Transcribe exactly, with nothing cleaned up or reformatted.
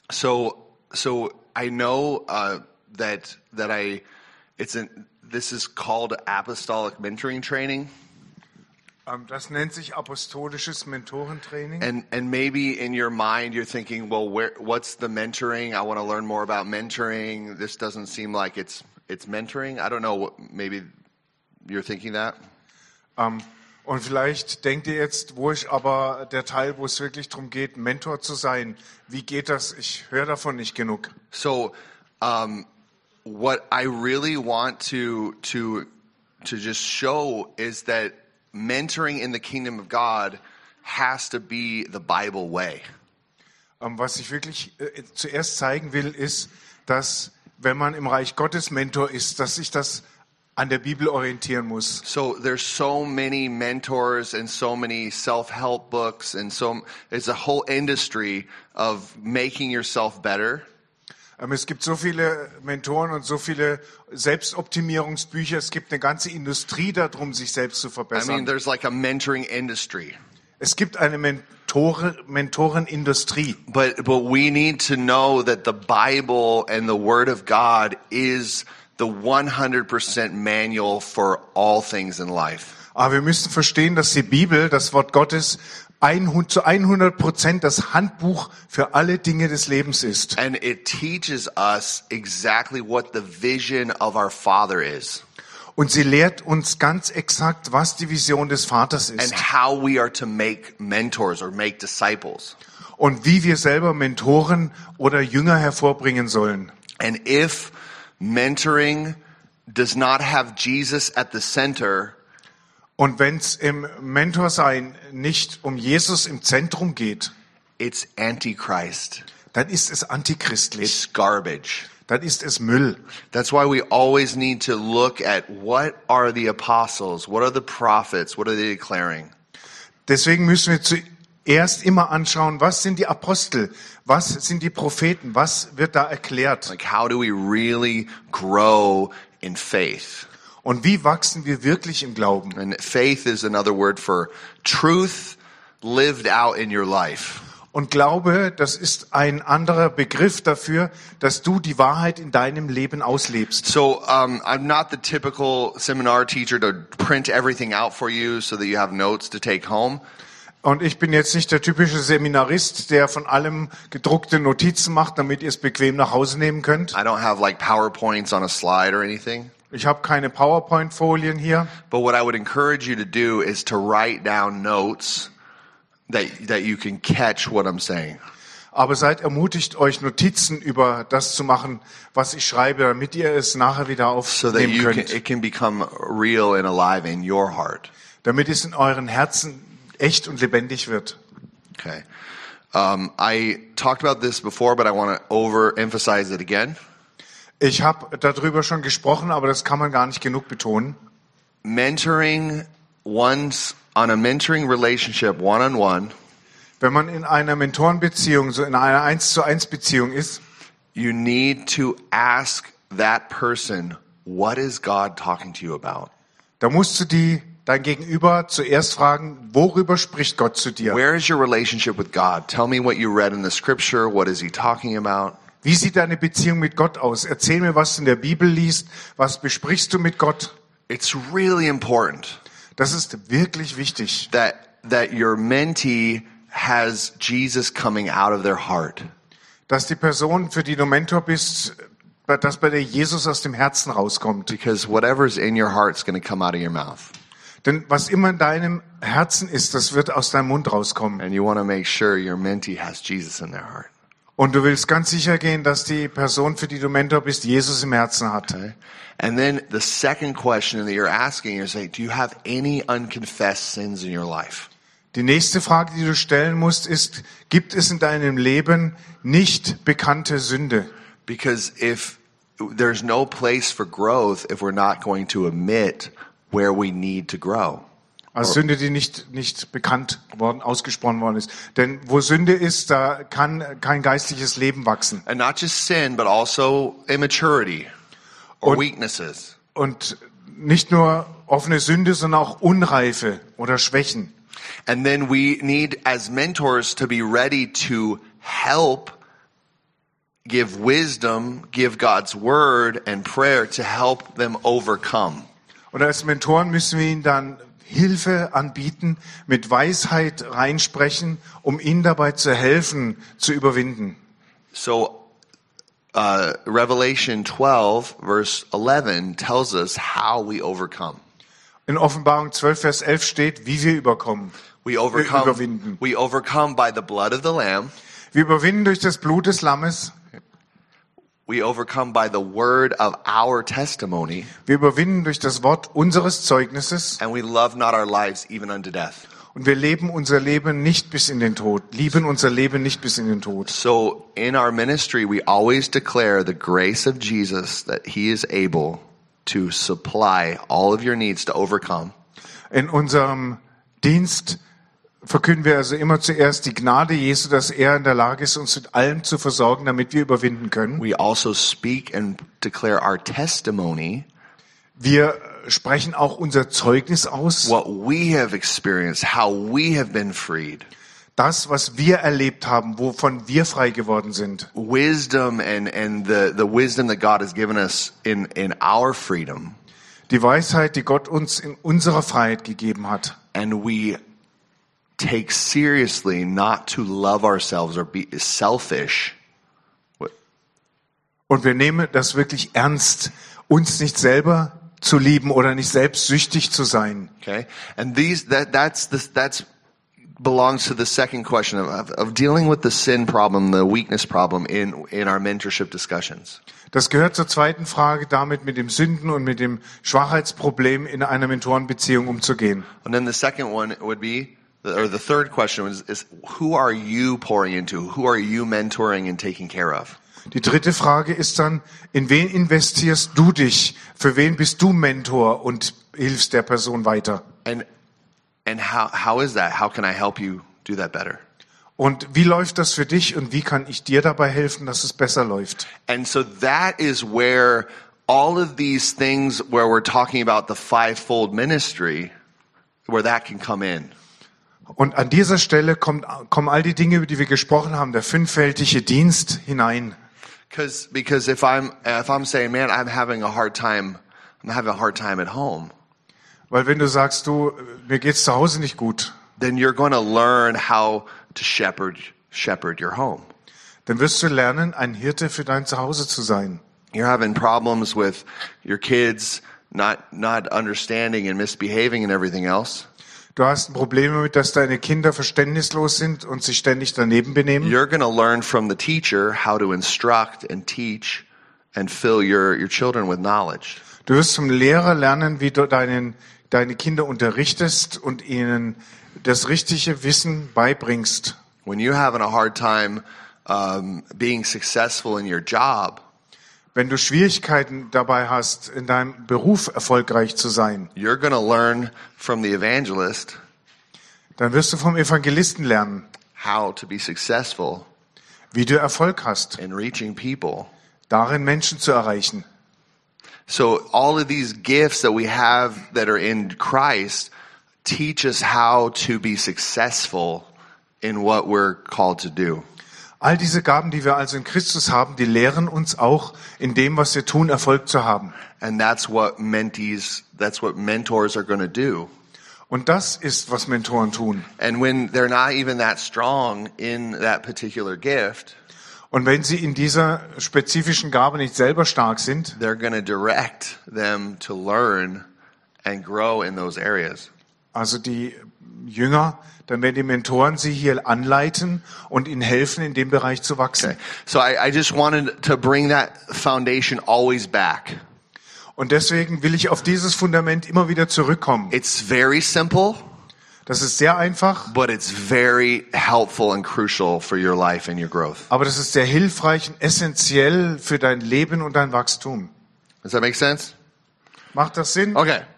So, so I know uh, that that I, it's an, this is called apostolic mentoring training. Um, das nennt sich apostolisches Mentorentraining. And and maybe in your mind you're thinking, well, where what's the mentoring? I want to learn more about mentoring. This doesn't seem like it's it's mentoring. I don't know. What, maybe you're thinking that. Um, und vielleicht denkt ihr jetzt, wo ich aber der Teil, wo es wirklich darum geht, Mentor zu sein, wie geht das? Ich höre davon nicht genug. So, um, what I really want to to to just show is that mentoring in the kingdom of God has to be the Bible way. Um, was ich wirklich äh, zuerst zeigen will, ist, dass wenn man im Reich Gottes Mentor ist, dass sich das an der Bibel orientieren muss. So there's so many mentors and so many self-help books and so it's a whole industry of making yourself better. Um, es gibt so viele Mentoren und so viele Selbstoptimierungsbücher. Es gibt eine ganze Industrie darum, sich selbst zu I verbessern. mean, there's like a mentoring industry. Es gibt eine Mentore, Mentorenindustrie. But but we need to know that the Bible and the Word of God is the one hundred percent manual for all things in life. Aber wir müssen verstehen, dass die Bibel, das Wort Gottes, zu hundert Prozent das Handbuch für alle Dinge des Lebens ist. And it teaches us exactly what the vision of our Father is. Und sie lehrt uns ganz exakt, was die Vision des Vaters ist. And how we are to make mentors or make disciples. Und wie wir selber Mentoren oder Jünger hervorbringen sollen. And if mentoring does not have Jesus at the center, und wenn es im Mentorsein nicht um Jesus im Zentrum geht, it's Antichrist. Dann ist es antichristlich. It's garbage. Dann ist es Müll. That's why we always need to look at what are the apostles, what are the prophets, what are they declaring? Deswegen müssen wir zuerst immer anschauen, was sind die Apostel, was sind die Propheten, was wird da erklärt? Like how do we really grow in faith? Und wie wachsen wir wirklich im Glauben? And faith is another word for truth lived out in your life. Und Glaube, das ist ein anderer Begriff dafür, dass du die Wahrheit in deinem Leben auslebst. So um, I'm not the typical seminar teacher to print everything out for you so that you have notes to take home. Und ich bin jetzt nicht der typische Seminarist, der von allem gedruckte Notizen macht, damit ihr es bequem nach Hause nehmen könnt. I don't have like PowerPoints on a slide or anything. Ich habe keine PowerPoint-Folien hier. But what I would encourage you to do is to write down notes that that you can catch what I'm saying. Aber seid ermutigt, euch Notizen über das zu machen, was ich schreibe, damit ihr es nachher wieder So that aufnehmen you can, könnt. it can become real and alive in your heart. Damit es in euren Herzen echt und lebendig wird. Okay. Um, I talked about this before, but I want to overemphasize it again. Ich habe darüber schon gesprochen, aber das kann man gar nicht genug betonen. Mentoring one's on a mentoring relationship one-on-one. Wenn man in einer Mentorenbeziehung, so in einer eins zu eins Beziehung ist, you need to ask that person, what is God talking to you about? da musst du die dein Gegenüber zuerst fragen, worüber spricht Gott zu dir? Where is your relationship with God? Tell me what you read in the scripture. What is he talking about? Wie sieht deine Beziehung mit Gott aus? Erzähl mir, was du in der Bibel liest. Was besprichst du mit Gott? It's really important Das ist wirklich wichtig, that that your mentee has Jesus coming out of their heart. dass die Person, für die du Mentor bist, dass bei der Jesus aus dem Herzen rauskommt. Because whatever's in your heart is going to come out of your mouth. Denn was immer in deinem Herzen ist, das wird aus deinem Mund rauskommen. And you want to make sure your mentee has Jesus in their heart. Und du willst ganz sicher gehen, dass die Person, für die du Mentor bist, Jesus im Herzen hat. Okay? And then the second question that you're asking is like, do you have any unconfessed sins in your life? Die nächste Frage, die du stellen musst, ist, gibt es in deinem Leben nicht bekannte Sünde? Because if there's no place for growth if we're not going to admit where we need to grow. Also Sünde, die nicht, nicht bekannt worden, ausgesprochen worden ist. Denn wo Sünde ist, da kann kein geistliches Leben wachsen. And not just sin, but also immaturity or Und- weaknesses. Und nicht nur offene Sünde, sondern auch Unreife oder Schwächen. And then we need, as mentors, to be ready to help give wisdom, give God's word and prayer to help them overcome. Und als Mentoren müssen wir ihnen dann Hilfe anbieten, mit Weisheit reinsprechen, um ihnen dabei zu helfen, zu überwinden. So uh, Revelation twelve, verse eleven tells us how we overcome. In Offenbarung zwölf, Vers elf steht, wie wir überkommen. We overcome, überwinden. we overcome by the blood of the Lamb. Wir überwinden durch das Blut des Lammes. We overcome by the word of our testimony. Wir überwinden durch das Wort unseres Zeugnisses. And we love not our lives even unto death. Und wir leben unser Leben nicht bis in den Tod. Lieben unser Leben nicht bis in den Tod. So in our ministry, we always declare the grace of Jesus, that he is able to supply all of your needs to overcome. In unserem Dienst verkünden wir also immer zuerst die Gnade Jesu, dass er in der Lage ist, uns mit allem zu versorgen, damit wir überwinden können. We also speak and declare our testimony. Wir sprechen auch unser Zeugnis aus. What we have experienced, how we have been freed. Das, was wir erlebt haben, wovon wir frei geworden sind. Wisdom and, and the, the wisdom that God has given us in, in our freedom. Die Weisheit, die Gott uns in unserer Freiheit gegeben hat. And we take seriously not to love ourselves or be selfish. Und wir nehmen das wirklich ernst, uns nicht selber zu lieben oder nicht selbstsüchtig zu sein. Okay, and these that that's the, that's belongs to the second question of, of dealing with the sin problem, the weakness problem in in our mentorship discussions. Das gehört zur zweiten Frage, damit mit dem Sünden und mit dem Schwachheitsproblem in einer Mentorenbeziehung umzugehen. And then the second one would be, or the third question is, is who are you pouring into? Who are you mentoring and taking care of? Die dritte Frage ist dann, in wen investierst du dich? Für wen bist du Mentor und hilfst der Person weiter? And and how how is that? How can I help you do that better? Und wie läuft das für dich und wie kann ich dir dabei helfen, dass es besser läuft? And so that is where all of these things where we're talking about the fivefold ministry, where that can come in. Und an dieser Stelle kommt, kommen all die Dinge, über die wir gesprochen haben, der fünffältige Dienst hinein. Because because if I'm if I'm saying, man, I'm having a hard time, I'm having a hard time at home. Weil wenn du sagst, du, mir geht's zu Hause nicht gut, then you're going to learn how to shepherd shepherd your home. dann wirst du lernen, ein Hirte für dein Zuhause zu sein. You're having problems with your kids not not understanding and misbehaving and everything else. Du hast ein Problem damit, dass deine Kinder verständnislos sind und sich ständig daneben benehmen. You're going to learn from the teacher how to instruct and teach and fill your your children with knowledge. Du wirst zum Lehrer lernen, wie du deinen, deine Kinder unterrichtest und ihnen das richtige Wissen beibringst. When you're having a hard time um, being successful in your job, Wenn du Schwierigkeiten dabei hast, in deinem Beruf erfolgreich zu sein, you're going to learn from the evangelist dann wirst du vom Evangelisten lernen, how to be successful wie du Erfolg hast, in reaching people. darin Menschen zu erreichen. So all of these gifts that we have that are in Christ teach us how to be successful in what we're called to do. All diese Gaben, die wir also in Christus haben, die lehren uns auch, in dem, was wir tun, Erfolg zu haben. And that's what mentees, that's what mentors are going to do. Und das ist, was Mentoren tun. And when they're not even that strong in that particular gift, Und wenn sie in dieser spezifischen Gabe nicht selber stark sind, they're going to direct them to learn and grow in those areas. also die Jünger, dann werden die Mentoren sie hier anleiten und ihnen helfen, in dem Bereich zu wachsen. Okay. So I, I just wanted to bring that foundation always back. Und deswegen will ich auf dieses Fundament immer wieder zurückkommen. It's very simple, Das ist sehr einfach, but it's very helpful and crucial for your life and your growth. aber das ist sehr hilfreich und essentiell für dein Leben und dein Wachstum. Does that make sense? Macht das Sinn? Okay.